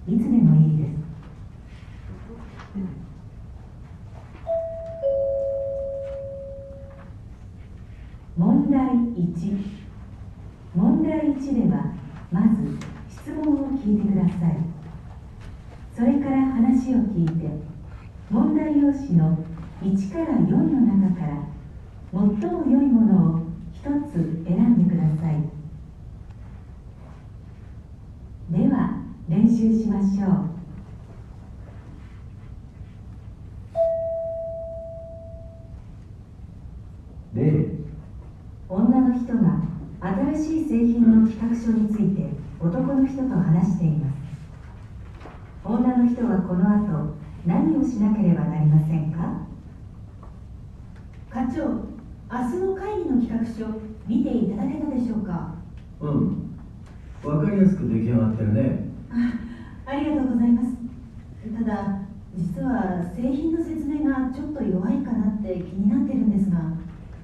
いつでもいいです。問題1。問題1ではまず質問を聞いてください。それから話を聞いて、問題用紙の1から4の中から最も良いものを一つ選んでください。では練習しましょう。女の人が新しい製品の企画書について男の人と話しています。女の人はこの後何をしなければなりませんか？ 課長、明日の会議の企画書見ていただけたでしょうか？ わかりやすく出来上がってるね。 ありがとうございます。ただ実は製品の説明がちょっと弱いかなって気になってるんですが。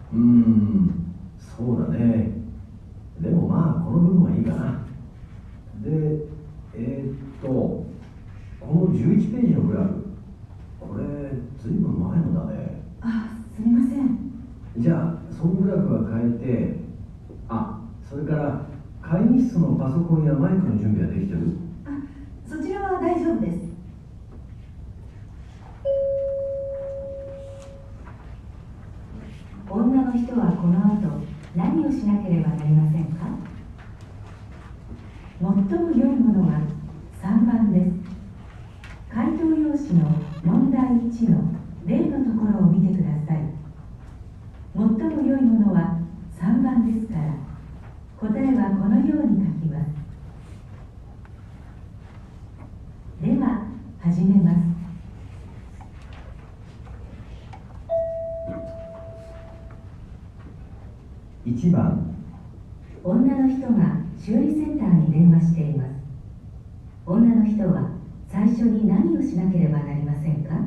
そうだね。でもまあこの部分はいいかな。で、この11ページのグラフ、これずいぶん前のだね。 すみません。 じゃあそのグラフは変えて、それから会議室のパソコンやマイクの準備はできてる？ そちらは大丈夫です。 女の人はこの後何をしなければなりませんか？最も良いものは3番です。回答用紙の問題1の例のところを見てください。最も良いものは3番ですから、答えはこのように書きます。では始めます。 1番。 女の人が修理センターに電話しています。女の人は最初に何をしなければなりませんか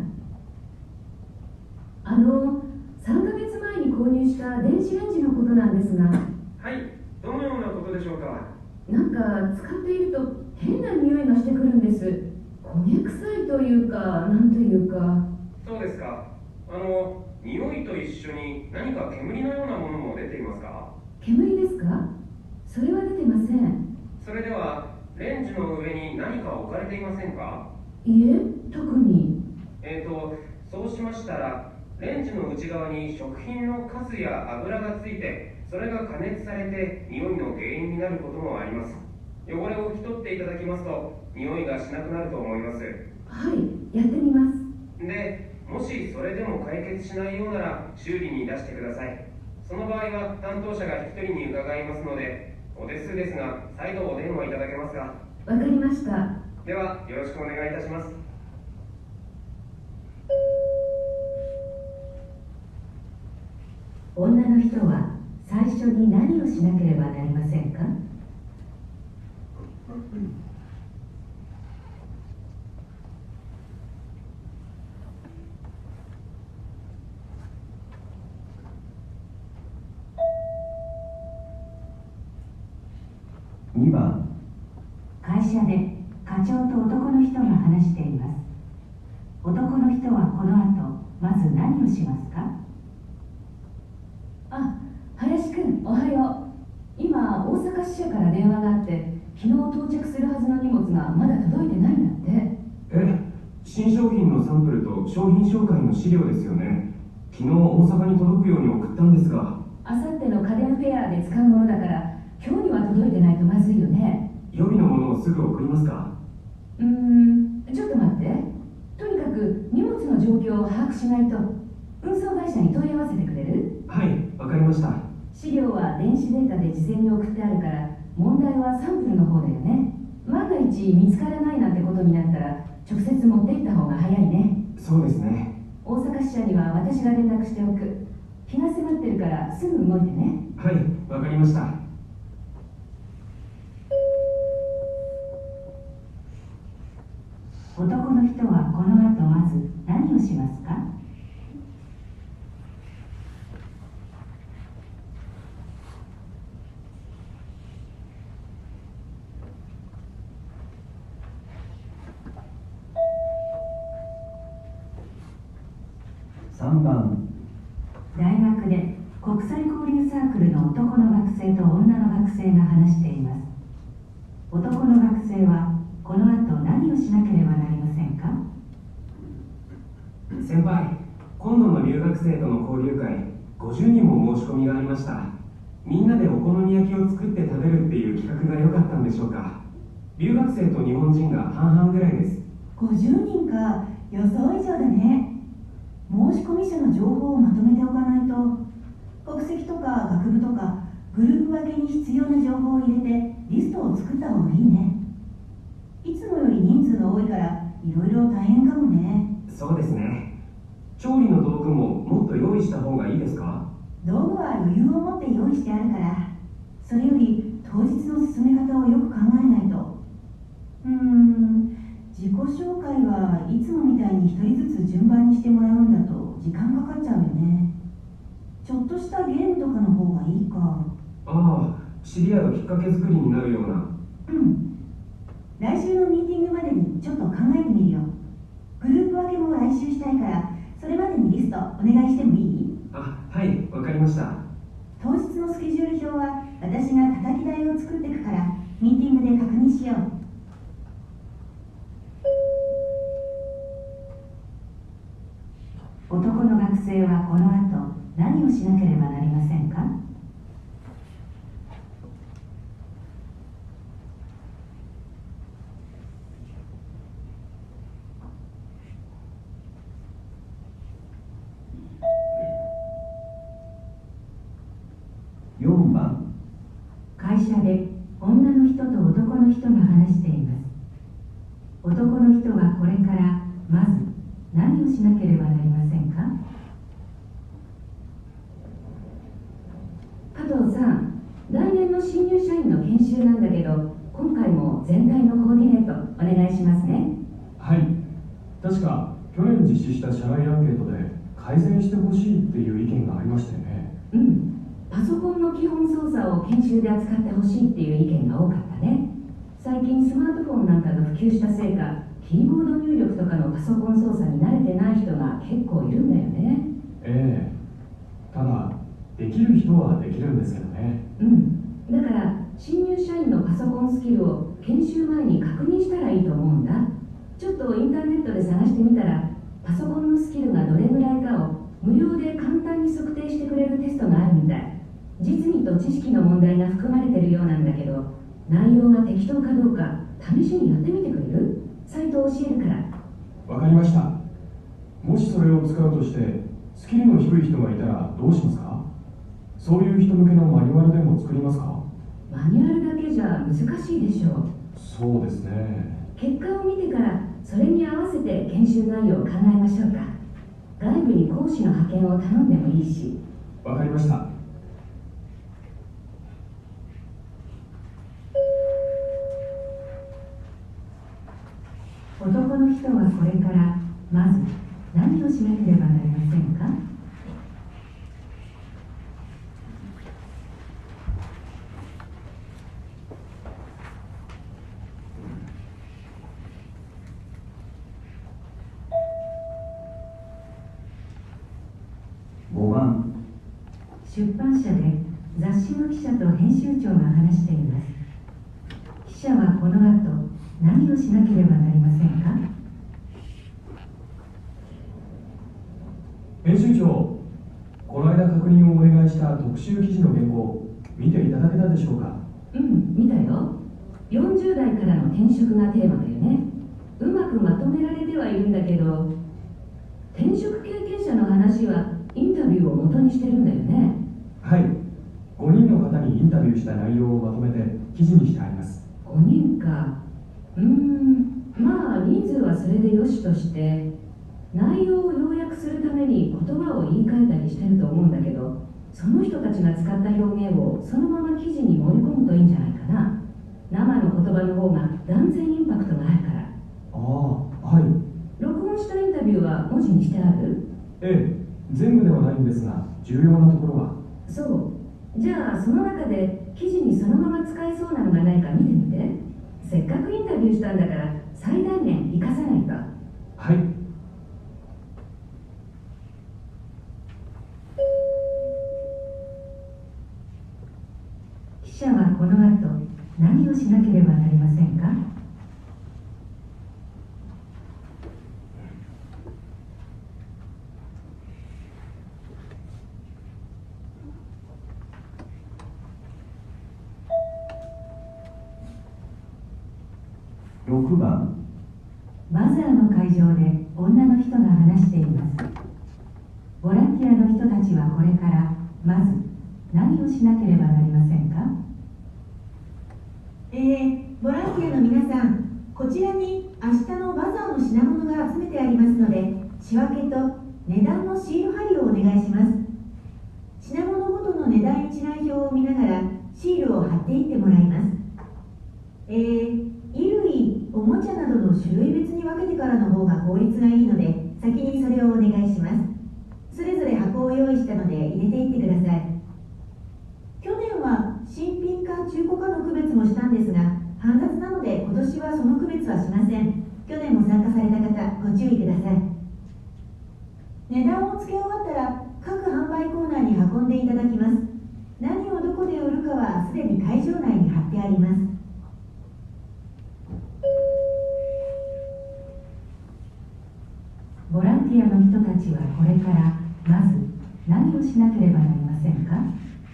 ？3ヶ月前に購入した電子レンジのことなんですが。 はい、どのようなことでしょうか？ なんか使っていると変な匂いがしてくるんです。焦げ臭いというか、なんというか。 そうですか。匂いと一緒に何か煙のようなものも出ていますか？ 煙ですか？それは出てません。 それではレンジの上に何か置かれていませんか？ いえ、特に。 そうしましたら、レンジの内側に食品のカスや油がついて、それが加熱されて匂いの原因になることもあります。汚れを拭き取っていただきますと、匂いがしなくなると思います。 はい、やってみます。 で、もしそれでも解決しないようなら修理に出してください。その場合は担当者が引き取りに伺いますので、お手数ですが再度お電話いただけますか？ わかりました。 ではよろしくお願いいたします。 女の人は最初に何をしなければなりませんか？ 2番。 会社で課長と男の人が話しています。男の人はこの後まず何をしますか？ 林くん、おはよう。今大阪支社から電話があって、昨日到着するはずの荷物がまだ届いてないんだって。 新商品のサンプルと商品紹介の資料ですよね。昨日大阪に届くように送ったんですが。 あさっての家電フェアで使うものだから、今日には届いてないとまずいよね。 予備のものをすぐ送りますか？ ちょっと待って。とにかく荷物の状況を把握しないと。運送会社に問い合わせてくれる？ はい、わかりました。 資料は電子データで事前に送ってあるから、問題はサンプルの方だよね。万が一見つからないなんてことになったら、直接持って行った方が早いね。 そうですね。 大阪支社には私が連絡しておく。日が迫ってるからすぐ動いてね。 はい、わかりました。 男の人はこの後まず何をしますか？ 3番。 大学で国際交流サークルの男の学生と女の学生が話しています。男の学生はこの後何をしなければなりませんか？ 先輩、今度の留学生との交流会、50人も申し込みがありました。みんなでお好み焼きを作って食べるっていう企画が良かったんでしょうか。留学生と日本人が半々ぐらいです。 50人か、予想以上だね。申し込み者の情報をまとめておかないと、国籍とか学部とかグループ分けに必要な情報を入れてリストを作った方がいいね。いつもより人数が多いからいろいろ大変かもね。 そうですね。調理の道具ももっと用意した方がいいですか？ 道具は余裕を持って用意してあるから、それより当日の進め方をよく考えないと。自己紹介はいつもみたいに一人ずつ順番にしてもらうんだと時間かかっちゃうよね。ちょっとしたゲームとかの方がいいか。 ああ、知り合うきっかけ作りになるような。 来週のミーティングまでにちょっと考えてみるよ。グループ分けも来週したいから、それまでにリストお願いしてもいい？ あ、はい、わかりました。 当日のスケジュール表は私が叩き台を作っていくから、ミーティングで確認しよう。 男の学生はこの後何をしなければなりませんか？ 4番。 会社で女の人と男の人が話しています。男の人はこれからまず何をしなければなりませんか？ 加藤さん、来年の新入社員の研修なんだけど、今回も全体のコーディネートお願いしますね。 はい、確か去年実施した社内アンケートで改善してほしいっていう意見がありましたよね。 パソコンの基本操作を研修で扱ってほしいっていう意見が多かったね。最近スマートフォンなんかが普及したせいか、キーボード入力とかのパソコン操作に慣れてない人が結構いるんだよね。 ええ、ただできる人はできるんですけどね。 だから新入社員のパソコンスキルを研修前に確認したらいいと思うんだ。ちょっとインターネットで探してみたら、パソコンのスキルがどれぐらいかを無料で簡単に測定してくれるテストがあるみたい。実技と知識の問題が含まれてるようなんだけど、内容が適当かどうか試しにやってみてくれる？サイトを教えるから。 わかりました。もしそれを使うとしてスキルの低い人がいたらどうしますか？そういう人向けのマニュアルでも作りますか？ マニュアルだけじゃ難しいでしょう。 そうですね。 結果を見てからそれに合わせて研修内容を考えましょうか。外部に講師の派遣を頼んでもいいし。 わかりました。 男の人はこれからまず何をしなければなりませんか？ 5番。 出版社で雑誌の記者と編集長が話しています。記者はこの後何をしなければなりませんか？ 編集長、この間確認をお願いした特集記事の原稿見ていただけたでしょうか？ 見たよ。40代からの転職がテーマだよね。うまくまとめられてはいるんだけど、転職経験者の話はインタビューを元にしてるんだよね。 はい、5人の方にインタビューした内容をまとめて記事にしてあります。 5人か。まあ人数はそれでよしとして、内容を要約するために言葉を言い換えたりしてると思うんだけど、その人たちが使った表現をそのまま記事に盛り込むといいんじゃないかな。生の言葉の方が断然インパクトがあるから。 はい。 録音したインタビューは文字にしてある？ ええ、全部ではないんですが重要なところは。 そう。じゃあその中で記事にそのまま使えそうなのがないか見てみて。せっかくインタビューしたんだから最大限活かさないと。 はい。 しなければなりませんか？ 6番。 バザーの会場で女の人が話しています。ボランティアの人たちはこれからまず何をしなければなりませんか？ ボランティアの皆さん、こちらに明日のバザーの品物が集めてありますので、仕分けと値段のシール貼りをお願いします。品物ごとの値段一覧表を見ながらシールを貼っていってもらいます。衣類、おもちゃなどの種類別に分けてからの方が効率がいいので、先にそれをお願いします。それぞれ箱を用意したので入れていってください。去年は新品か中古かの区別もしたんですが、煩雑なので今年はその区別はしません。去年も参加された方、ご注意ください。値段を付け終わったら各販売コーナーに運んでいただきます。何をどこで売るかはすでに会場内に貼ってあります。 ボランティアの人たちはこれからまず何をしなければなりませんか？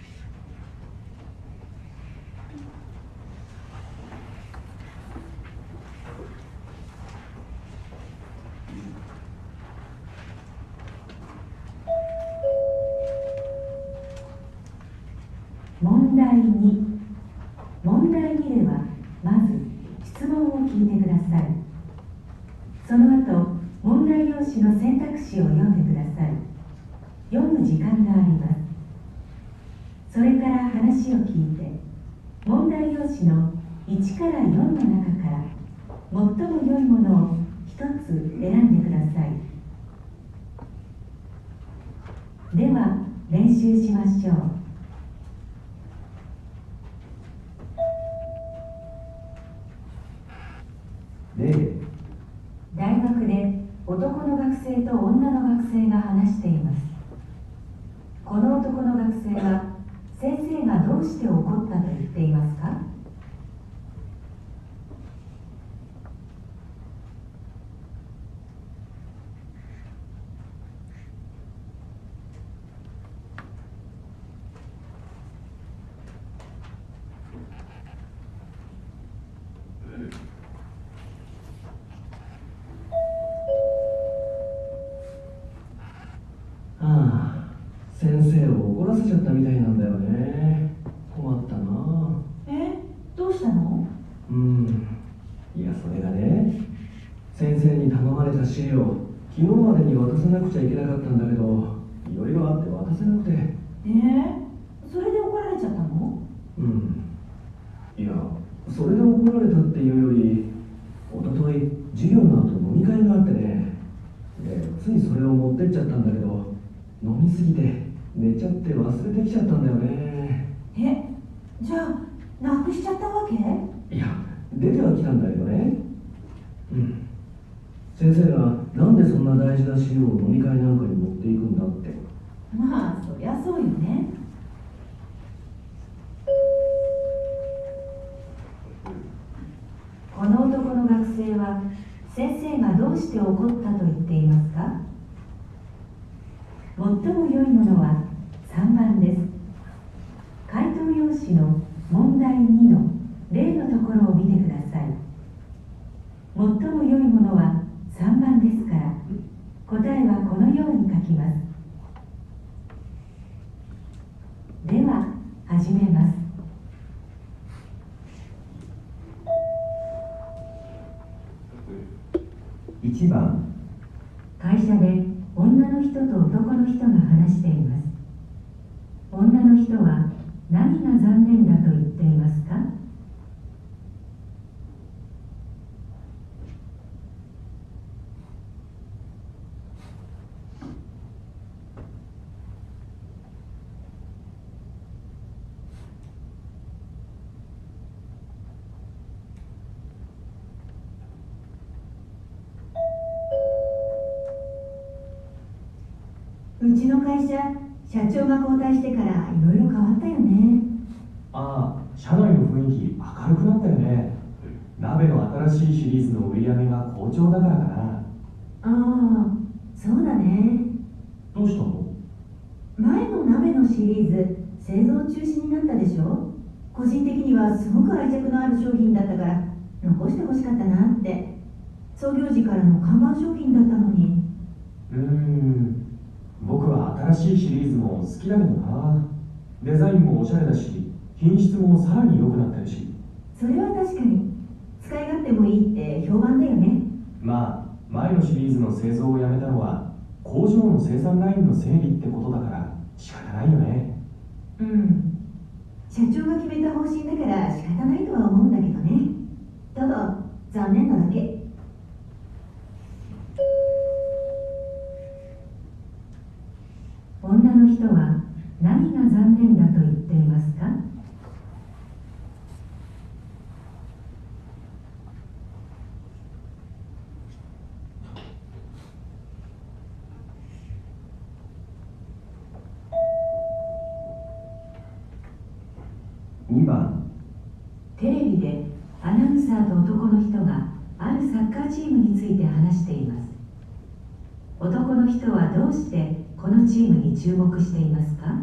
問題2。問題2ではまず質問を聞いてください。その後問題用紙の選択肢を読んでください。読む時間があります。それから話を聞いて、問題用紙の1から4の中から最も良いものを一つ選んでください。では練習しましょう。大学で男の学生と女の学生が話しています。この男の学生は先生がどうして怒ったと言っていますか？ 先生を怒らせちゃったみたいなんだよね。困ったな。 どうしたの？ いや、それがね、先生に頼まれた資料、昨日までに渡さなくちゃいけなかったんだけど、いろいろあって渡せなくて。 それで怒られちゃったの？ いや、それで怒られたっていうより、おととい授業の後飲み会があってね、でついそれを持ってっちゃったんだけど、飲みすぎて寝ちゃって忘れてきちゃったんだよね。 じゃあなくしちゃったわけ？ いや、出てはきたんだけどね。先生がなんでそんな大事な資料を飲み会なんかに持っていくんだって。 まあそりゃそうよね。 この男の学生は先生がどうして怒ったと言っていますか？最も良いものは3番です。回答用紙の問題2の例のところを見てください。最も良いものは3番ですから、答えはこのように書きます。では始めます。 1番。 会社で女の人と男の人が話しています。女の人は何が残念だと言っていますか？ うちの会社、社長が交代してからいろいろ変わったよね。 社内の雰囲気明るくなったよね。鍋の新しいシリーズの売り上げが好調だからかな。 ああ、そうだね。 どうしたの？ 前の鍋のシリーズ製造中止になったでしょ。個人的にはすごく愛着のある商品だったから残してほしかったなって。創業時からの看板商品だったのに。 僕は新しいシリーズも好きだけどな。デザインもおしゃれだし、品質もさらに良くなってるし。 それは確かに使い勝手もいいって評判だよね。 まあ前のシリーズの製造をやめたのは工場の生産ラインの整理ってことだから仕方ないよね。 社長が決めた方針だから仕方ないとは思うんだけどね。ただ残念なだけ。 女の人は何が残念だと言っていますか？ 2番。 テレビでアナウンサーと男の人があるサッカーチームについて話しています。男の人はどうしてこのチームに注目していますか？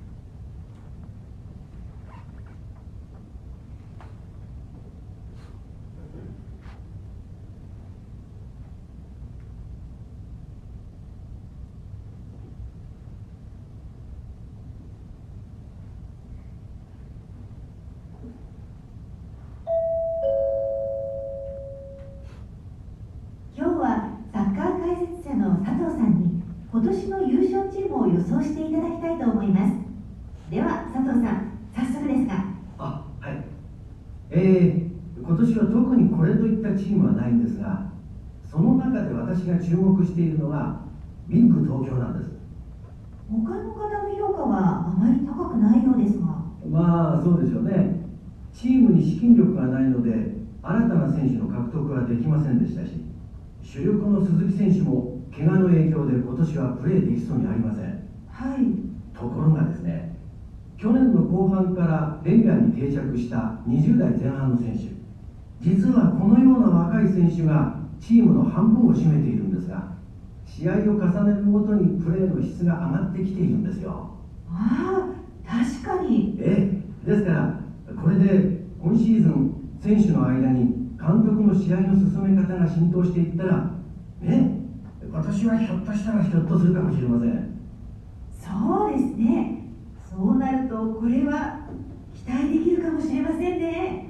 今日はサッカー解説者の佐藤さんに今年の優勝チームを予想していただきたいと思います。では佐藤さん、早速ですが。 はい。今年は特にこれといったチームはないんですが、その中で私が注目しているのがビッグ東京なんです。 他の方の評価はあまり高くないようですが。 まあそうでしょうね。チームに資金力がないので新たな選手の獲得はできませんでしたし、主力の鈴木選手も怪我の影響で今年はプレーできそうにありません。 はい。 ところがですね、去年の後半からレギュラーに定着した20代前半の選手、実はこのような若い選手がチームの半分を占めているんですが、試合を重ねるごとにプレーの質が上がってきているんですよ。 ああ、確かに。 ですからこれで今シーズン選手の間に監督の試合の進め方が浸透していったらね、今年はひょっとしたらひょっとするかもしれません。 そうですね。そうなるとこれは期待できるかもしれませんね。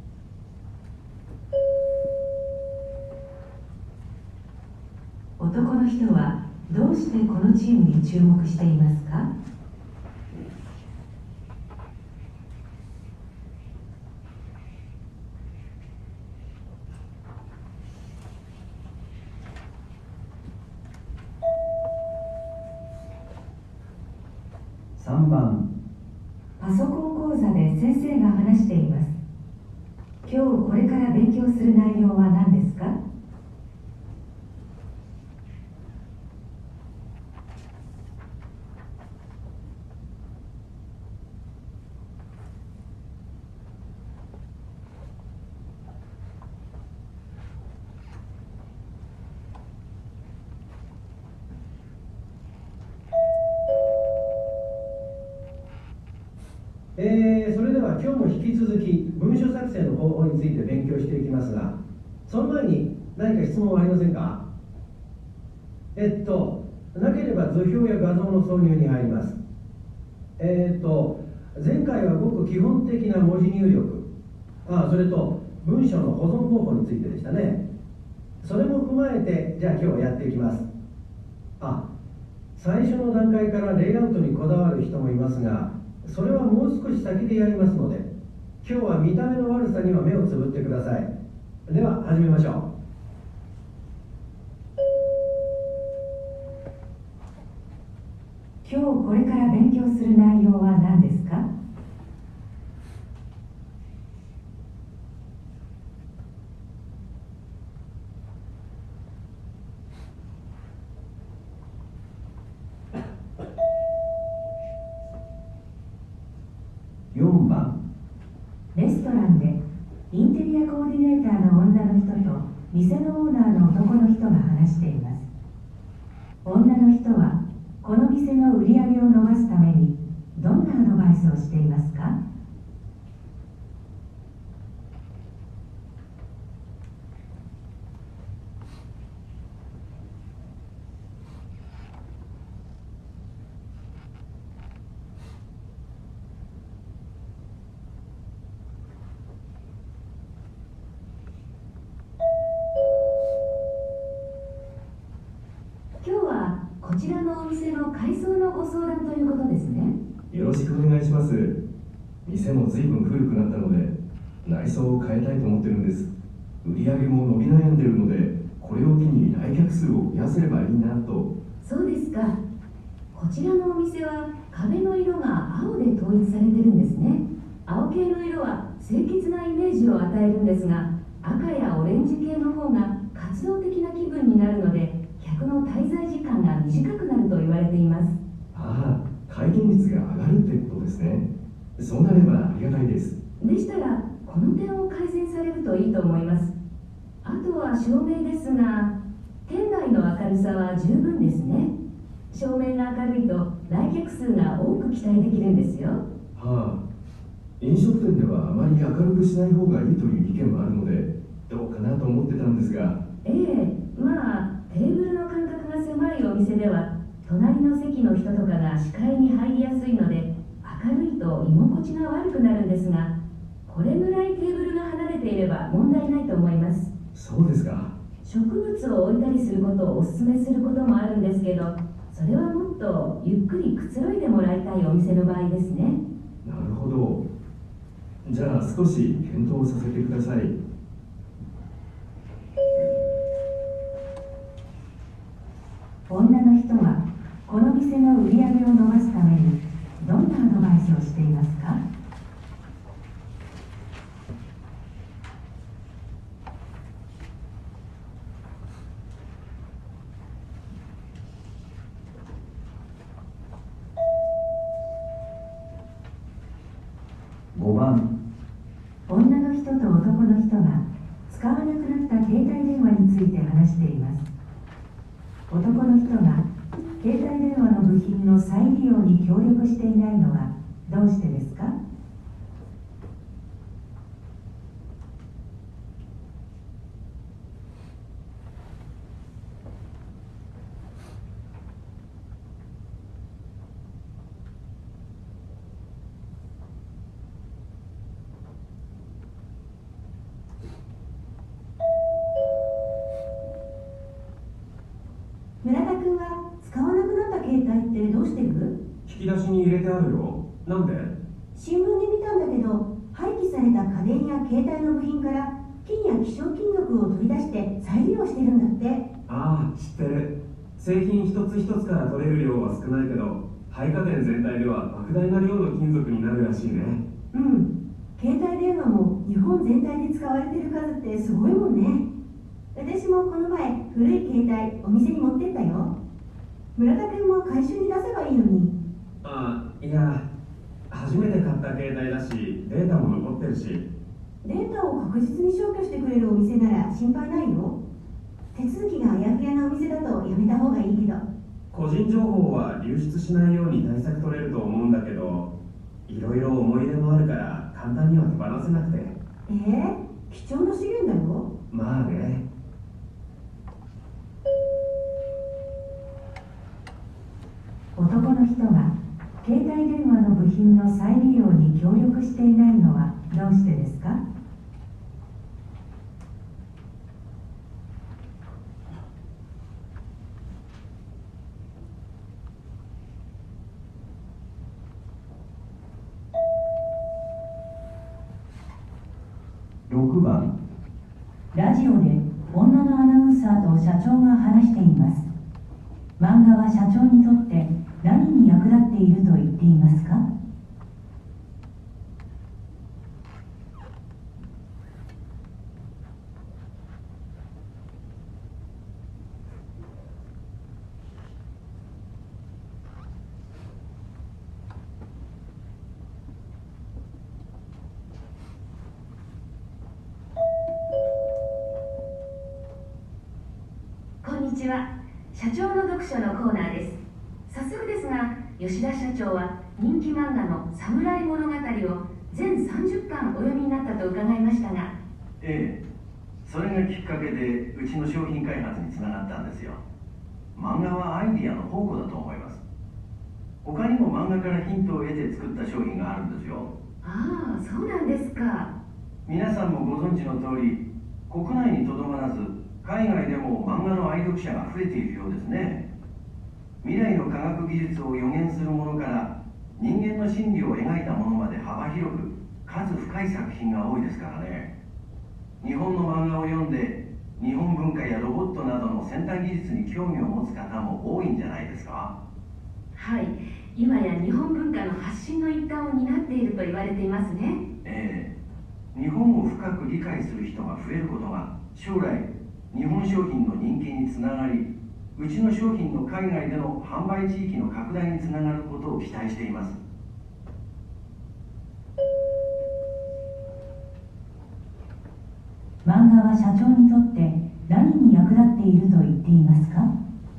男の人はどうしてこのチームに注目していますか？ 3番。 パソコン講座で先生が話しています。今日これから勉強する内容は何ですか？ それでは今日も引き続き文書作成の方法について勉強していきますが、その前に何か質問はありませんか？なければ図表や画像の挿入に入ります。前回はごく基本的な文字入力、それと文章の保存方法についてでしたね。それも踏まえて、じゃあ今日はやっていきます。最初の段階からレイアウトにこだわる人もいますが、それはもう少し先でやりますので、今日は見た目の悪さには目をつぶってください。では始めましょう。 今日これから勉強する内容は何ですか？ 4番。 レストランで店のオーナーの男の人が話しています。女の人はこの店の売り上げを伸ばすためにどんなアドバイスをしていますか？ 今日はこちらのお店の改装のご相談ということですね。 よろしくお願いします。店も随分古くなったので内装を変えたいと思ってるんです。売り上げも伸び悩んでるので、これを機に来客数を増やせればいいなと。 そうですか。こちらのお店は壁の色が青で統一されてるんですね。青系の色は清潔なイメージを与えるんですが、赤やオレンジ系の方が活動的な気分になるので、客の滞在時間が短くなると言われています。 ああ、回転率が上がるってことですね。そうなればありがたいです。 でしたらこの点を改善されるといいと思います。あとは照明ですが、店内の明るさは十分ですね。照明が明るいと来客数が多く期待できるんですよ。 はあ、飲食店ではあまり明るくしない方がいいという意見もあるので、どうかなと思ってたんですが。 ええ、まあテーブルの間隔が狭いお店では隣の席の人とかが視界に入りやすいので、明るいと居心地が悪くなるんですが、これぐらいテーブルが離れていれば問題ないと思います。 そうですか。 植物を置いたりすることをお勧めすることもあるんですけど、それはもっとゆっくりくつろいでもらいたいお店の場合ですね。 なるほど。じゃあ少し検討させてください。 女の人はこの店の売り上げを伸ばすためにどんなアドバイスをしていますか？ 5番。 女の人と男の人が使わなくなった携帯電話について話しています。男の人が携帯電話の部品の再利用に協力していないのはどうしてですか？ 村田君は使わなくなった携帯ってどうしてる？ 引き出しに入れてあるよ。なんで？ 新聞で見たんだけど、廃棄された家電や携帯の部品から金や希少金属を取り出して再利用してるんだって。 ああ、知ってる。製品一つ一つから取れる量は少ないけど、廃家電全体では莫大な量の金属になるらしいね。 うん、携帯電話も日本全体で使われてる数ってすごいもんね。私もこの前古い携帯お店に持ってったよ。村田君も回収に出せばいいのに。 ああ、いや、初めて買った携帯だし、データも残ってるし。 データを確実に消去してくれるお店なら心配ないよ。手続きがあやふやなお店だとやめた方がいいけど。 個人情報は流出しないように対策取れると思うんだけど、いろいろ思い入れもあるから簡単には手放せなくて。 貴重な資源だよ。 まあね。 男の人が携帯電話の部品の再利用に協力していないのはどうしてですか？ 6番。 ラジオで女のアナウンサーと社長が話しています。漫画は社長にとって何に役立っていると言っていますか？ ちは。社長の読書のコーナーです。早速ですが、吉田社長は人気漫画の侍物語を全30巻お読みになったと伺いましたが。 ええ、それがきっかけでうちの商品開発につながったんですよ。漫画はアイディアの宝庫だと思います。他にも漫画からヒントを得て作った商品があるんですよ。 ああ、そうなんですか。 皆さんもご存知の通り、国内にとどまらず海外でも漫画の愛読者が増えているようですね。未来の科学技術を予言するものから人間の心理を描いたものまで幅広く数深い作品が多いですからね。日本の漫画を読んで日本文化やロボットなどの先端技術に興味を持つ方も多いんじゃないですか。 はい、今や日本文化の発信の一端を担っていると言われていますね。 ええ、日本を深く理解する人が増えることが将来日本商品の人気につながり、うちの商品の海外での販売地域の拡大につながることを期待しています。 漫画は社長にとって何に役立っていると言っていますか？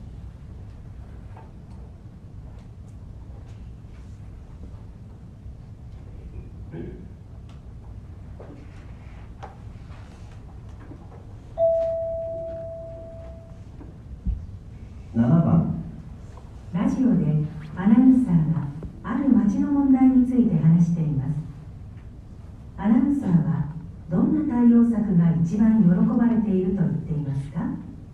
7番。 ラジオでアナウンサーがある町の問題について話しています。アナウンサーはどんな対応策が一番喜ばれていると言っていますか？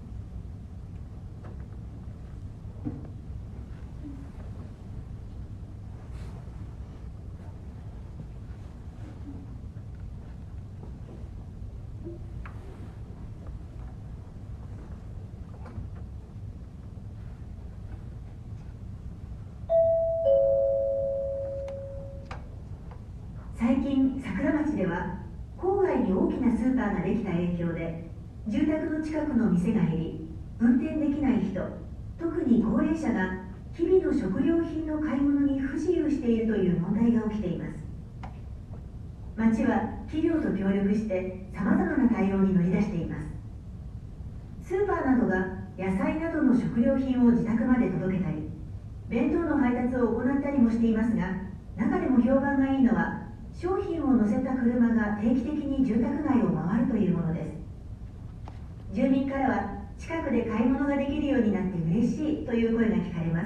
最近桜町では郊外に大きなスーパーができた影響で住宅の近くの店が減り、運転できない人、特に高齢者が日々の食料品の買い物に不自由しているという問題が起きています。町は企業と協力してさまざまな対応に乗り出しています。スーパーなどが野菜などの食料品を自宅まで届けたり、弁当の配達を行ったりもしていますが、中でも評判がいいのは商品を載せた車が定期的に住宅街を回るというものです。住民からは近くで買い物ができるようになって嬉しいという声が聞かれます。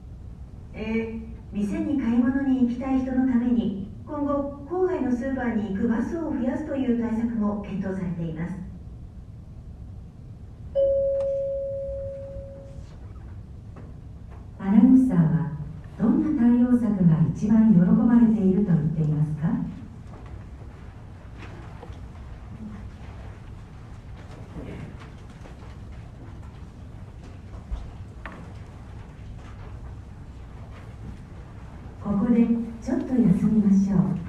店に買い物に行きたい人のために今後郊外のスーパーに行くバスを増やすという対策も検討されています。 アナウンサーはどんな対応策が一番喜ばれていると言っていますか？ここでちょっと休みましょう。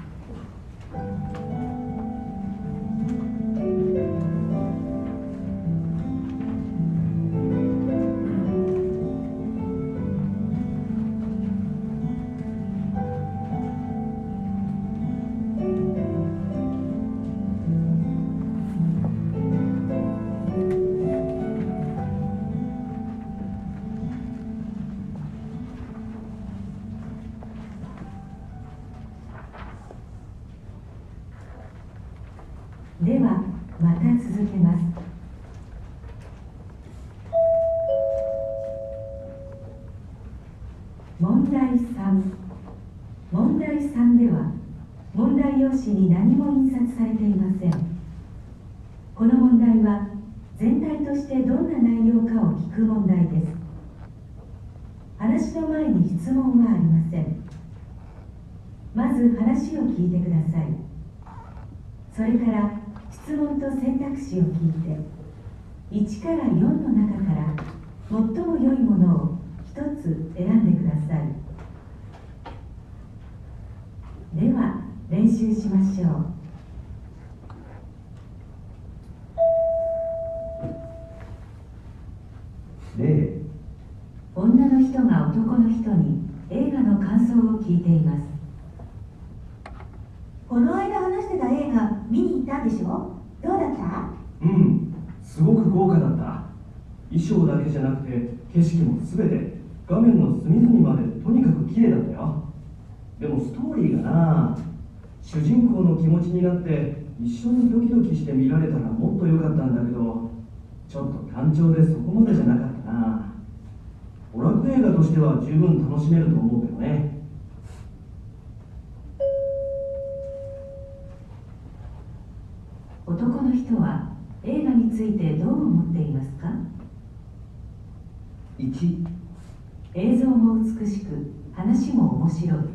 ではまた続けます。問題3。問題3では問題用紙に何も印刷されていません。この問題は全体としてどんな内容かを聞く問題です。話の前に質問はありません。まず話を聞いてください。それから質問と選択肢を聞いて1から4の中から最も良いものを1つ選んでください。では練習しましょう。 例、 女の人が男の人に映画の感想を聞いています。 この間話してた映画見に行ったんでしょ？どうだった？ すごく豪華だった。 衣装だけじゃなくて景色も全て画面の隅々までとにかく綺麗だったよ。でもストーリーがな、主人公の気持ちになって一緒にドキドキして見られたらもっと良かったんだけど、ちょっと単調でそこまでじゃなかったな。娯楽映画としては十分楽しめると思うけどね。 男の人は映画についてどう思っていますか？ 1、 映像も美しく話も面白い。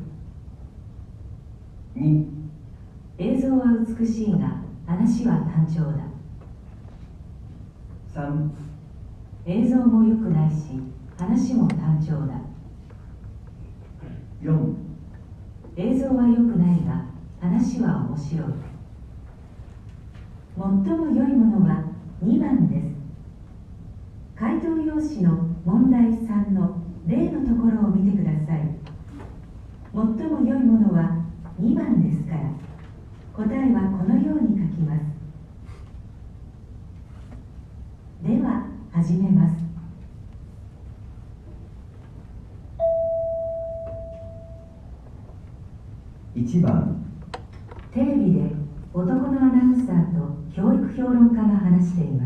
2、 映像は美しいが話は単調だ。 3、 映像も良くないし話も単調だ。 4、 映像は良くないが話は面白い。最も良いものは2番です。回答用紙の問題3の例のところを見てください。最も良いものは2番ですから、答えはこのように書きます。では始めます。 1番、 テレビで男のアナウンサーと教育評論家が話しています。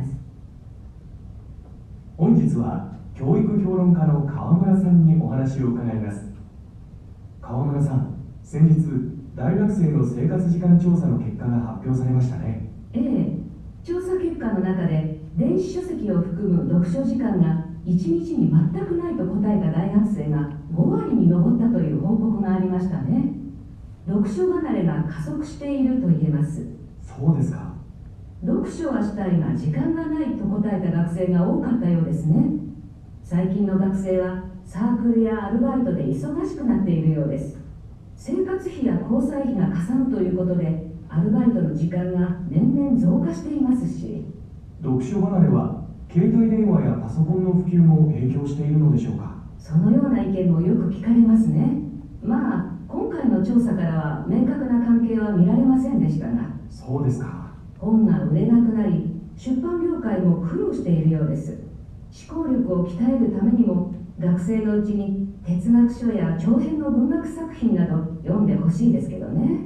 本日は教育評論家の川村さんにお話を伺います。川村さん、先日大学生の生活時間調査の結果が発表されましたね。 ええ、調査結果の中で電子書籍を含む読書時間が1日に全くないと答えた大学生が5割に上ったという報告がありましたね。読書離れが加速していると言えます。 そうですか。 読書はしたいが時間がないと答えた学生が多かったようですね。最近の学生はサークルやアルバイトで忙しくなっているようです。生活費や交際費がかさむということでアルバイトの時間が年々増加していますし、 読書離れは携帯電話やパソコンの普及も影響しているのでしょうか。 そのような意見もよく聞かれますね。まあ今回の調査からは明確な関係は見られませんでしたが、 そうですか。 本が売れなくなり出版業界も苦労しているようです。思考力を鍛えるためにも学生のうちに哲学書や長編の文学作品など読んでほしいですけどね。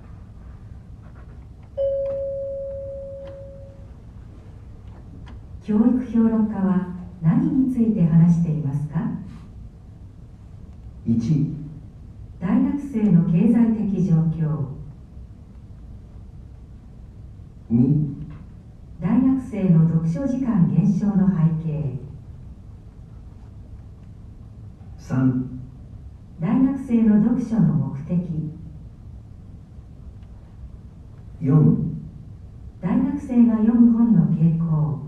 教育評論家は何について話していますか？ 1、 大学生の経済的状況。 2、 大学生の読書時間減少の背景。 3、 大学生の読書の目的。 4、 大学生が読む本の傾向。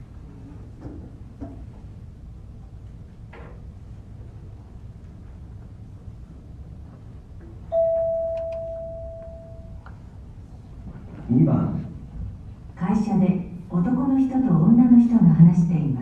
2番、 会社で男の人と女の人が話しています。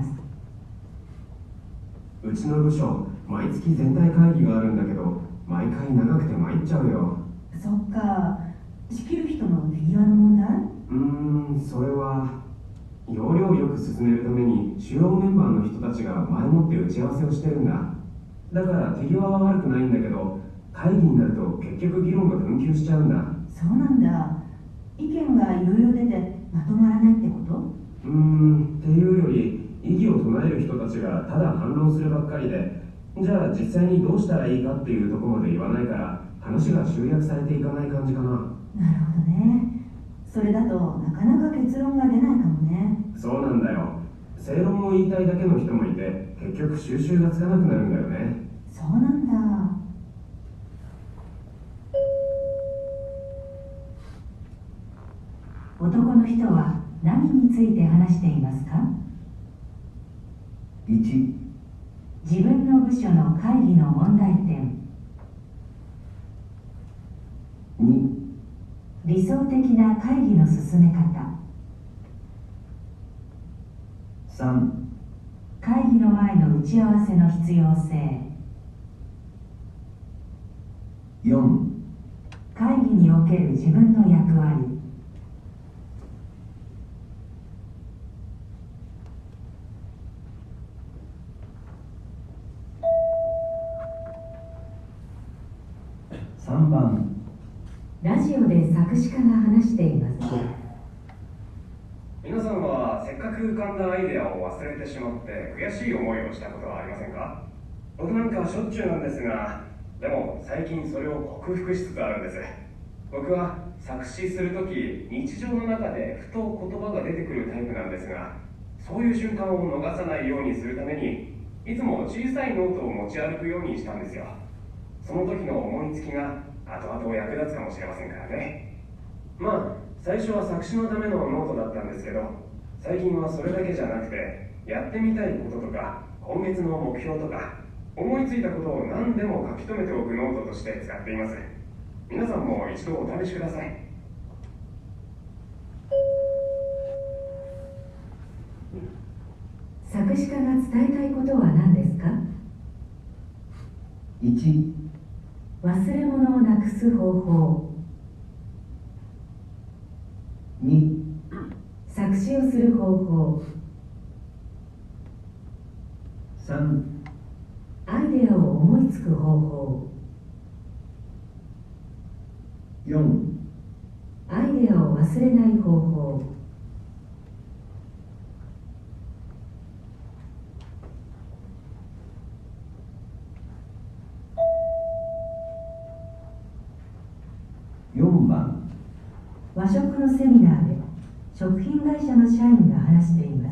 うちの部署、毎月全体会議があるんだけど、毎回長くて参っちゃうよ。 そっか、仕切る人の手際の問題？ それは要領をよく進めるために主要メンバーの人たちが前もって打ち合わせをしてるんだ。だから手際は悪くないんだけど、会議になると結局議論が紛糾しちゃうんだ。 そうなんだ。意見がいろいろ出てまとまらないってこと？ っていうより、異議を唱える人たちがただ反論するばっかりで、じゃあ実際にどうしたらいいかっていうところまで言わないから話が集約されていかない感じかな。 なるほどね。それだとなかなか結論が出ないかもね。 そうなんだよ。正論を言いたいだけの人もいて、結局収拾がつかなくなるんだよね。 そうなんだ。 男の人は何について話していますか？ 1、 自分の部署の会議の問題点。 2、 理想的な会議の進め方。 3、 会議の前の打ち合わせの必要性。 4、 会議における自分の役割。 3番。 ラジオで作詞家が話しています。 皆さんはせっかく浮かんだアイデアを忘れてしまって悔しい思いをしたことはありませんか？僕なんかしょっちゅうなんですが、でも最近それを克服しつつあるんです。僕は作詞するとき、日常の中でふと言葉が出てくるタイプなんですが、そういう瞬間を逃さないようにするためにいつも小さいノートを持ち歩くようにしたんですよ。その時の思いつきが後々役立つかもしれませんからね。まあ最初は作詞のためのノートだったんですけど、最近はそれだけじゃなくて、やってみたいこととか今月の目標とか思いついたことを何でも書き留めておくノートとして使っています。皆さんも一度お試しください。 作詞家が伝えたいことは何ですか？ 1、 忘れ物をなくす方法。 2、 作詞をする方法。 3、 アイデアを思いつく方法。 4、 アイデアを忘れない方法。 4番。 和食のセミナーで食品会社の社員が話しています。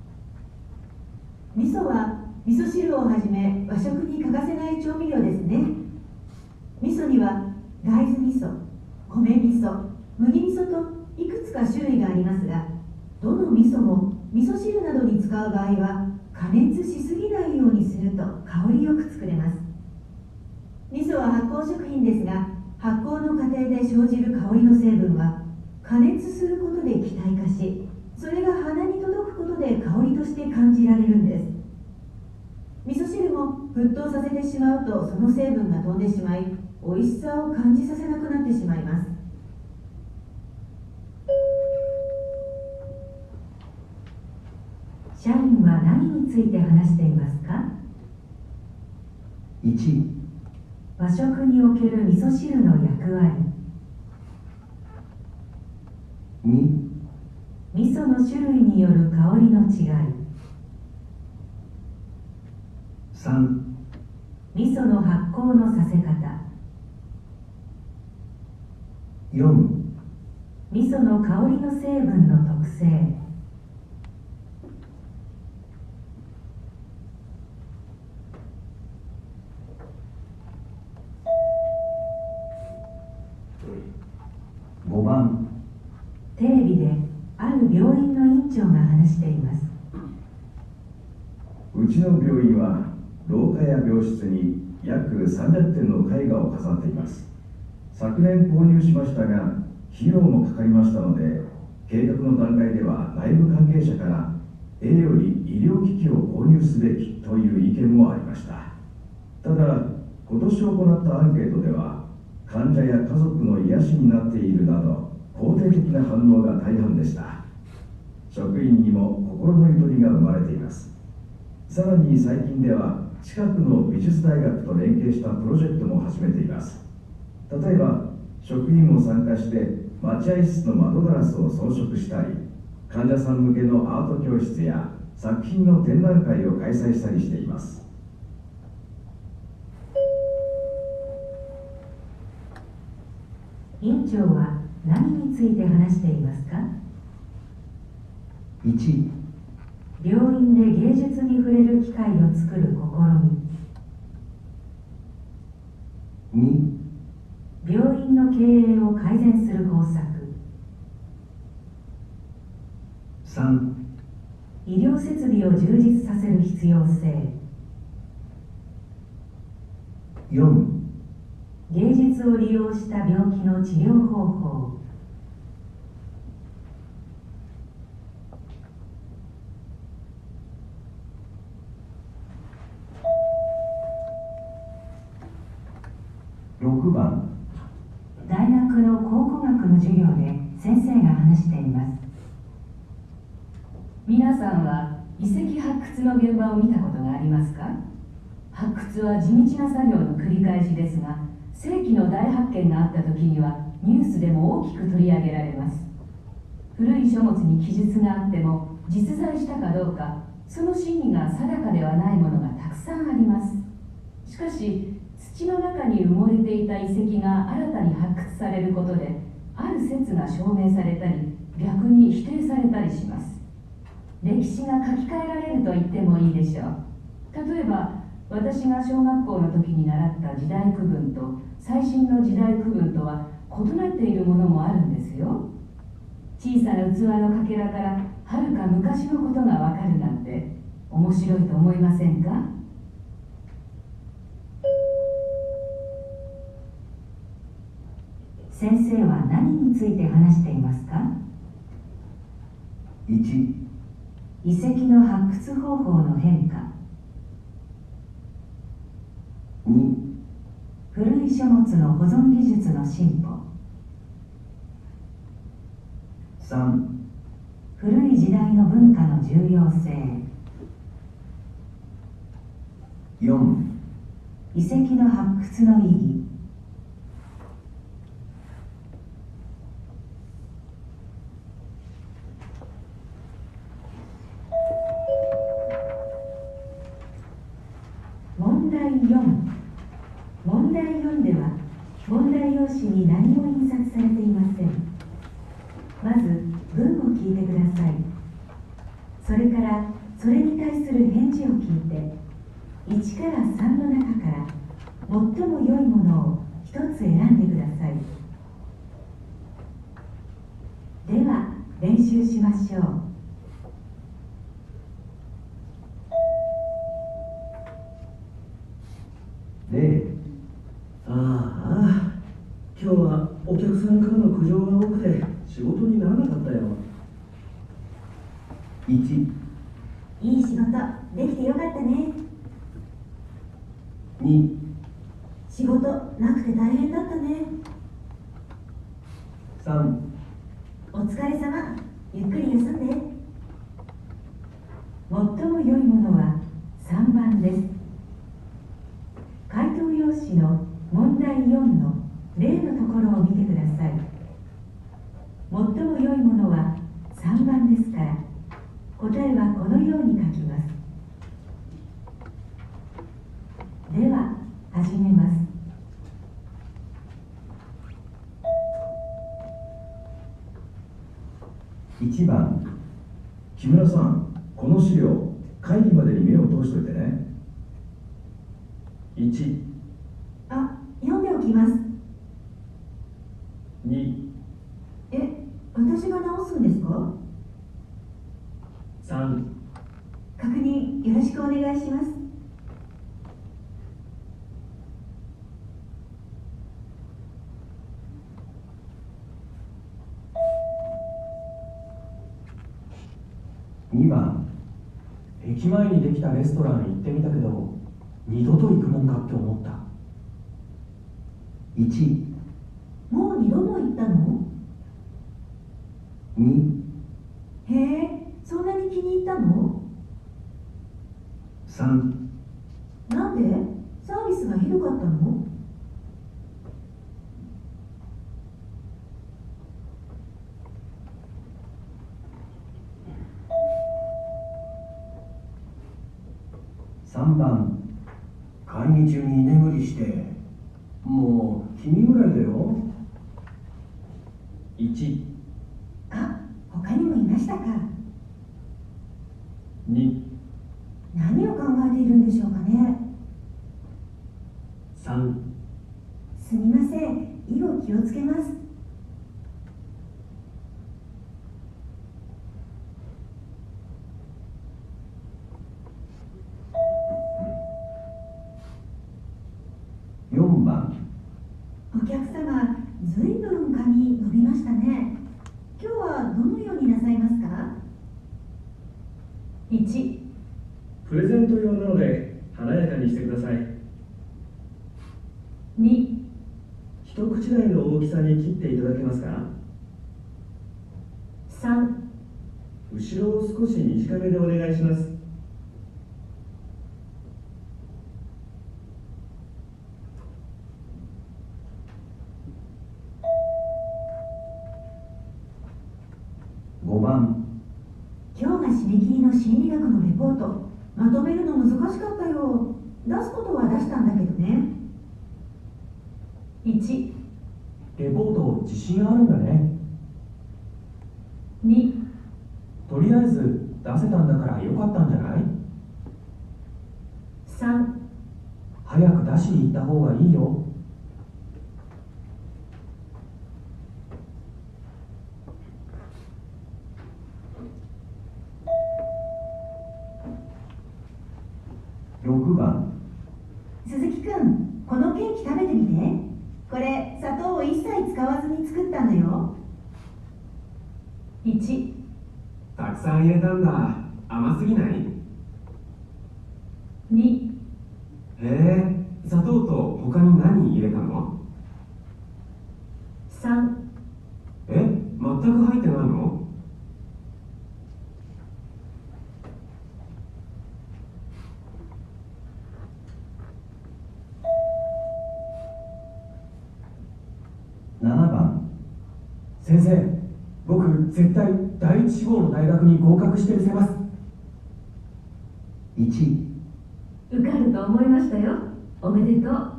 味噌は味噌汁をはじめ和食に欠かせない調味料ですね。味噌には大豆味噌、米味噌、麦味噌といくつか種類がありますが、どの味噌も味噌汁などに使う場合は加熱しすぎないようにすると香りよく作れます。味噌は発酵食品ですが、発酵の過程で生じる香りの成分は加熱することで気体化し、それが鼻に届くことで香りとして感じられるんです。味噌汁も沸騰させてしまうとその成分が飛んでしまい、美味しさを感じさせなくなってしまいます。 社員は何について話していますか？ 1、 和食における味噌汁の役割。 2、 味噌の種類による香りの違い。 3、 味噌の発酵のさせ方。 4、 味噌の香りの成分の特性。 5番。 テレビである病院の院長が話しています。 うちの病院は廊下や病室に約300点の絵画を飾っています。昨年購入しましたが費用もかかりましたので、計画の段階では内部関係者から A より医療機器を購入すべきという意見もありました。ただ今年行ったアンケートでは、患者や家族の癒しになっているなど肯定的な反応が大半でした。職員にも心のゆとりが生まれています。さらに最近では近くの美術大学と連携したプロジェクトも始めています。例えば職員も参加して待合室の窓ガラスを装飾したり、患者さん向けのアート教室や作品の展覧会を開催したりしています。 院長は何について話していますか？ 1、 病院で芸術に触れる機会を作る試み。 2、 病院の経営を改善する方策。 3、 医療設備を充実させる必要性。 4、 芸術を利用した病気の治療方法。 6番。 大学の考古学の授業で先生が話しています。 皆さんは遺跡発掘の現場を見たことがありますか？発掘は地道な作業の繰り返しですが、 世紀の大発見があった時にはニュースでも大きく取り上げられます。古い書物に記述があっても実在したかどうか、その真偽が定かではないものがたくさんあります。しかし土の中に埋もれていた遺跡が新たに発掘されることで、ある説が証明されたり逆に否定されたりします。歴史が書き換えられると言ってもいいでしょう。例えば私が小学校の時に習った時代区分と最新の時代区分とは異なっているものもあるんですよ。小さな器のかけらからはるか昔のことがわかるなんて面白いと思いませんか？ 先生は何について話していますか？ 1、 遺跡の発掘方法の変化。 2、 古い書物の保存技術の進歩。 3、 古い時代の文化の重要性。 4、 遺跡の発掘の意義。問題4。問題4では問題用紙に何も印刷されていません。まず文を聞いてください。それからそれに対する返事を聞いて、1から3の中から最も良いものを一つ選んでください。では練習しましょう。 例、 ああ、今日はお客さんからの苦情が多くて仕事にならなかったよ。 1、 いい仕事できてよかったね。 2、 仕事なくて大変だったね。 3、 お疲れ様、ゆっくり休んで。 最も良いものは3番です。回答用紙の問題4の例のところを見てください。最も良いものは3番ですから、答えはこのように書きます。では始めます。 1番、木村さん、この資料会議までに目を通しといてね。 1、 あ、読んでおきます。 2、 私が直すんですか？ 3、 確認よろしくお願いします。 2番、 駅前にできたレストラン行ってみたけど、二度と行くもんかって思った。 1、 もう2度も行ったの？ 2、 へえ、そんなに気に入ったの？ 3、 なんで？サービスがひどかったの？ 3番、会議中に居眠りして、もう君ぐらいだよ。 1、 あ、他にもいましたか。 2、 何を考えているんでしょうかね。 3、 すみません、以後気をつけます。 4番、 お客様、ずいぶん髪伸びましたね。今日はどのようになさいますか？ 1、 プレゼント用なので華やかにしてください。 2、 一口大の大きさに切っていただけますか？ 3、 後ろを少し短めでお願いします。 ポートまとめるの難しかったよ。出すことは出したんだけどね。 1、 レポート自信あるんだね。 2、 とりあえず出せたんだからよかったんじゃない？ 3、 早く出しに行った方がいいよ。 6番。 鈴木くん、このケーキ食べてみて。これ砂糖を一切使わずに作ったんだよ。 1、 たくさん入れたんだ。甘すぎない？ 2、 へえ、砂糖と他に何入れたの？ 3、 え、全く入ってないの？ 7番。 先生、僕絶対第一志望の大学に合格してみせます。 1、 受かると思いましたよ。おめでとう。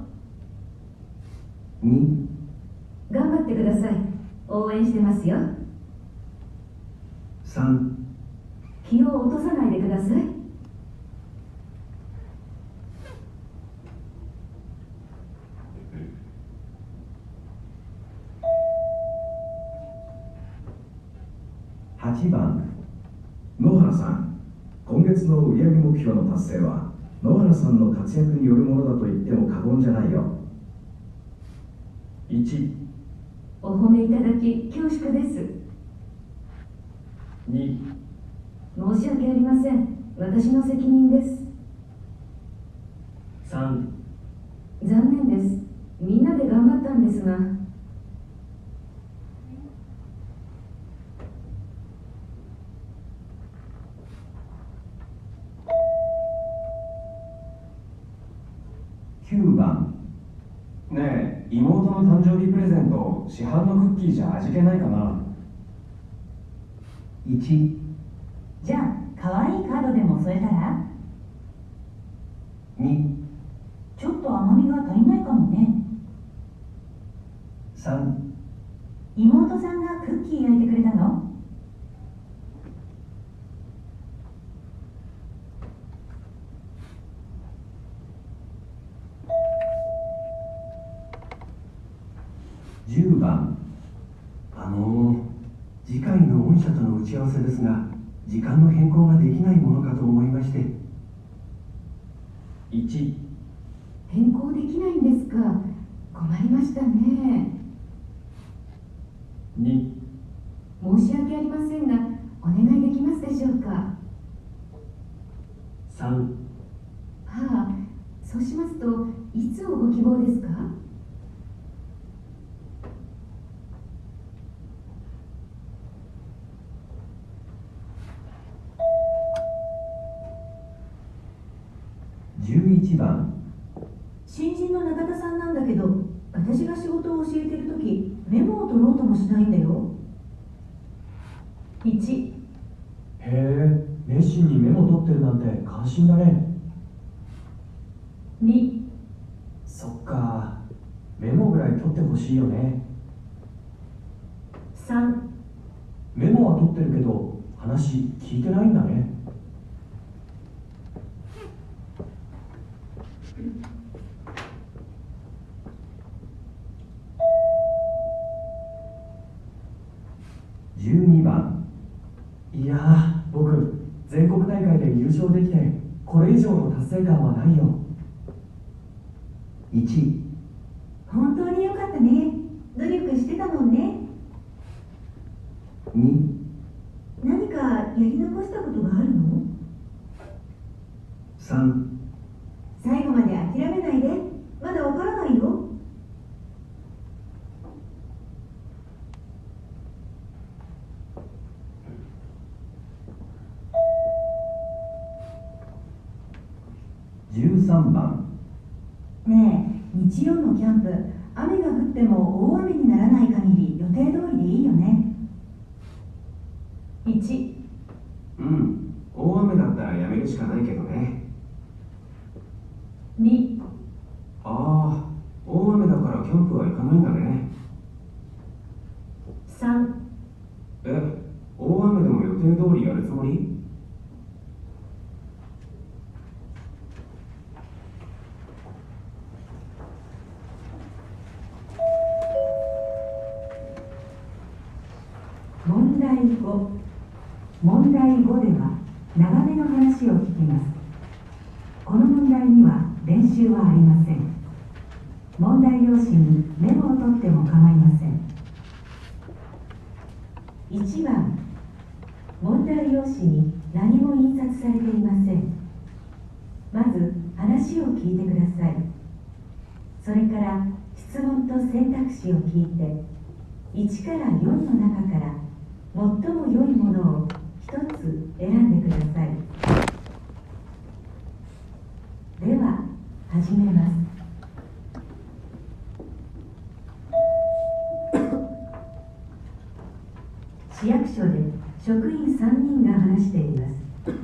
2、 頑張ってください。応援してますよ。 3、 気を落とさないでください。 8番。 野原さん、今月の売上目標の達成は野原さんの活躍によるものだと言っても過言じゃないよ。 1、 お褒めいただき恐縮です。 2、 申し訳ありません。私の責任です。 3、 残念です。みんなで頑張ったんですが。 9番。 ねえ、妹の誕生日プレゼント、市販のクッキーじゃ味気ないかな？ 1、 じゃあ可愛いカードでも添えたら。 2、 ちょっと甘みが足りないかもね。 3、 妹さんがクッキー焼いてくれたの？ 10番。次回の御社との打ち合わせですが、時間の変更ができないものかと思いまして。 1、 変更できないんですか。困りましたね。 2、 申し訳ありませんが、お願いできますでしょうか。 3、 はあ、そうしますといつをご希望ですか。 11番。 新人の永田さんなんだけど、私が仕事を教えてるときメモを取ろうともしないんだよ。 1、 へえ、熱心にメモ取ってるなんて感心だね。 2、 そっか、メモぐらい取ってほしいよね。 3、 メモは取ってるけど話聞いてないんだね。 12番。 いやー、僕全国大会で優勝できてこれ以上の達成感はないよ。 1、 本当によかったね。努力してたもんね。 2、 何かやり残したことがあるの 3、 最後まで諦めないで。まだわからないよ。 13番。 ねえ、日曜のキャンプ、雨が降っても大雨にならない限り予定通りでいいよね。 1、 うん、大雨だったらやめるしかないけどね。 2、 ああ、大雨だからキャンプは行かないんだね。 3、 大雨でも予定通りやるつもり？ 問題5。問題5では長めの話を聞きます。この問題には練習はありません。問題用紙にメモを取っても構いません。1番、問題用紙に何も印刷されていません。まず話を聞いてください。それから質問と選択肢を聞いて1から4の中から最も良いものを1つ選んでください。では始めます。市役所で職員3人が話しています。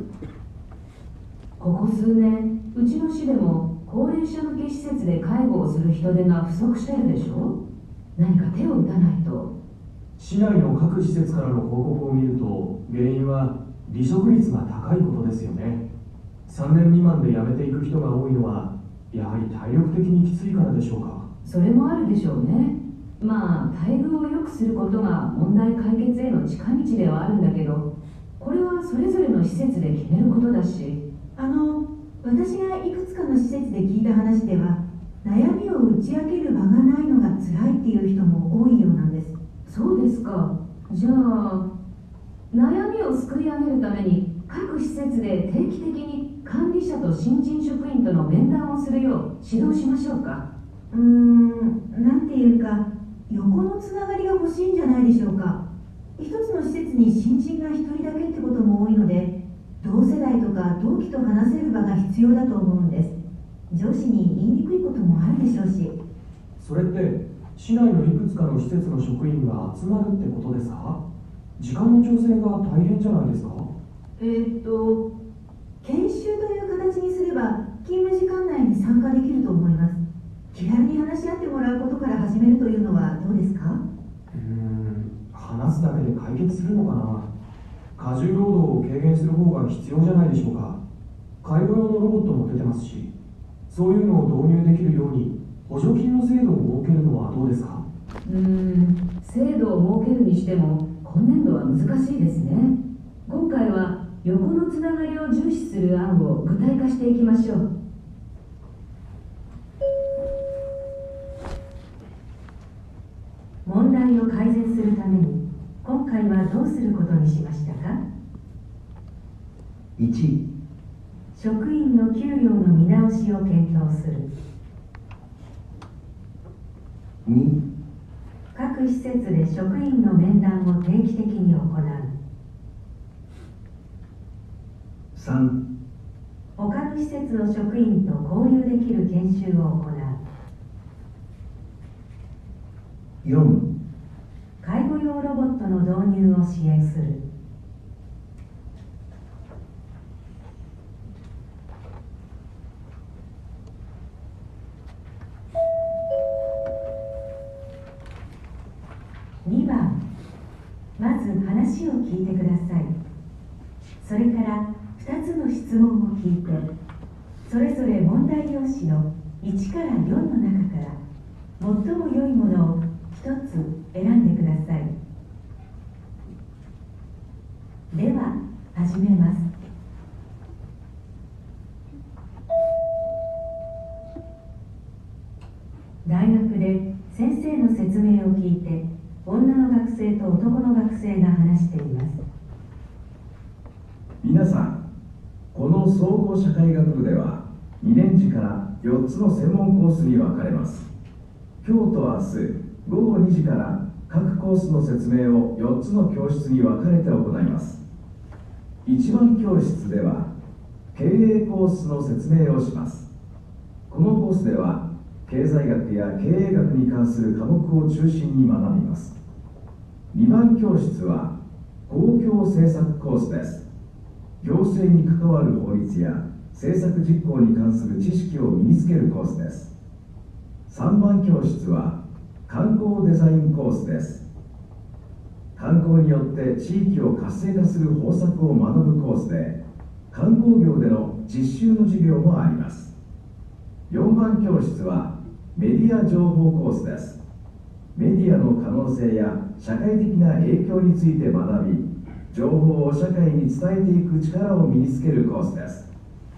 ここ数年、うちの市でも高齢者向け施設で介護をする人手が不足してるでしょ。何か手を打たないと。 市内の各施設からの報告を見ると、原因は離職率が高いことですよね。3年未満で辞めていく人が多いのは、やはり体力的にきついからでしょうか。 それもあるでしょうね。まあ、待遇を良くすることが問題解決への近道ではあるんだけど、これはそれぞれの施設で決めることだし。 私がいくつかの施設で聞いた話では、悩みを打ち明ける場がないのが辛いっていう人も多いようなんです。 そうですか。じゃあ、悩みをすくい上げるために各施設で定期的に管理者と新人職員との面談をするよう指導しましょうか。 なんていうか、横のつながりが欲しいんじゃないでしょうか。一つの施設に新人が一人だけってことも多いので、同世代とか同期と話せる場が必要だと思うんです。上司に言いにくいこともあるでしょうし。 それって市内のいくつかの施設の職員が集まるってことですか？時間の調整が大変じゃないですか？ 研修という形にすれば勤務時間内に参加できると思います。気軽に話し合ってもらうことから始めるというのはどうですか？ 話すだけで解決するのかな。過重労働を軽減する方が必要じゃないでしょうか。介護用のロボットも出てますし、そういうのを導入できるように補助金の制度を設けるのはどうですか？ 制度を設けるにしても今年度は難しいですね。今回は横のつながりを重視する案を具体化していきましょう。 問題を改善するために今回はどうすることにしましたか？ 1、 職員の給料の見直しを検討する。 2、 各施設で職員の面談を定期的に行う。 3、 他の施設の職員と交流できる研修を行う。 4、 介護用ロボットの導入を支援する。2番、まず話を聞いてください。それから2つの質問を聞いて、それぞれ問題用紙の1から4の中から最も良いものを1つ選んでください。では始めます。大学で先生の説明を聞いて、女の学生と男の学生が話しています。 皆さん、この総合社会学部では2年次から4つの専門コースに分かれます。今日と明日午後2時から各コースの説明を4つの教室に分かれて行います。1番教室では経営コースの説明をします。このコースでは経済学や経営学に関する科目を中心に学びます。2番教室は公共政策コースです。行政に関わる法律や制作実行に関する知識を身につけるコースです。3番教室は観光デザインコースです。観光によって地域を活性化する方策を学ぶコースで、観光業での実習の授業もあります。4番教室はメディア情報コースです。メディアの可能性や社会的な影響について学び、情報を社会に伝えていく力を身につけるコースです。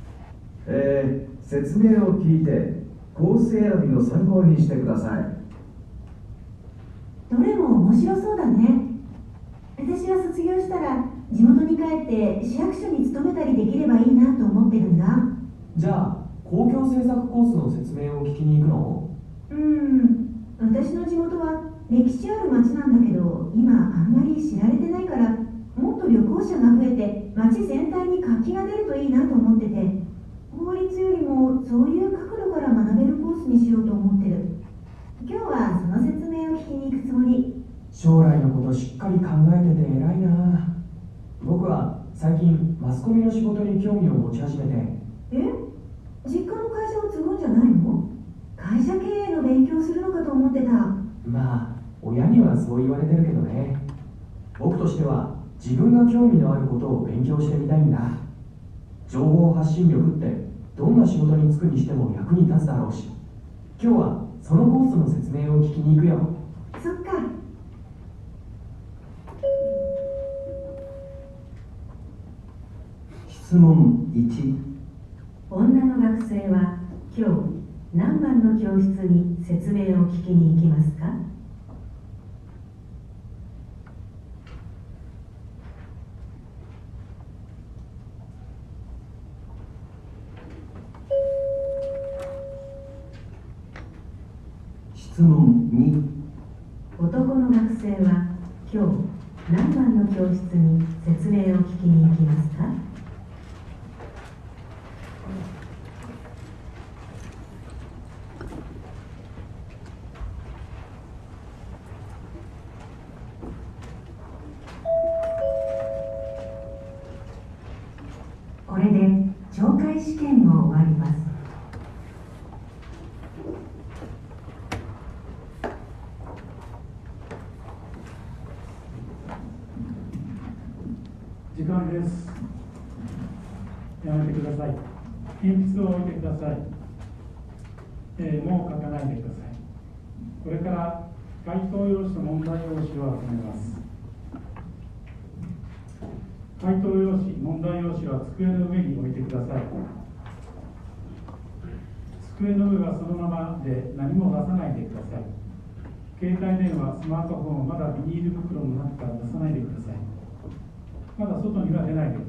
説明を聞いてコース選びの参考にしてください。 どれも面白そうだね。私は卒業したら地元に帰って市役所に勤めたりできればいいなと思ってるんだ。 じゃあ公共政策コースの説明を聞きに行くの？ 私の地元は歴史ある町なんだけど、今あんまり知られてないから、もっと旅行者が増えて町全体に活気が出るといいなと思ってて、法律よりもそういう角度から学べるコースにしようと思ってる。今日はその説明を聞きに行くつもり。 将来のことしっかり考えてて偉いな。僕は最近マスコミの仕事に興味を持ち始めて。 実家の会社を継ぐんじゃないの？会社経営の勉強するのかと思ってた。 まあ親にはそう言われてるけどね。僕としては自分が興味のあることを勉強してみたいんだ。情報発信力ってどんな仕事に就くにしても役に立つだろうし、今日はそのコースの説明を聞きに行くよ。 そっか。 質問1。 女の学生は今日何番の教室に説明を聞きに行きますか？ 質問2。 男の学生は今日何番の教室に説明を聞きに行きますか？これで懲戒試験も終わります。 時間です。やめてください。鉛筆を置いてください。もう書かないでください。これから回答用紙と問題用紙を集めます。回答用紙、問題用紙は机の上に置いてください。机の上はそのままで何も出さないでください。携帯電話、スマートフォンをまだビニール袋の中から出さないでください。まだ外には出ないでください。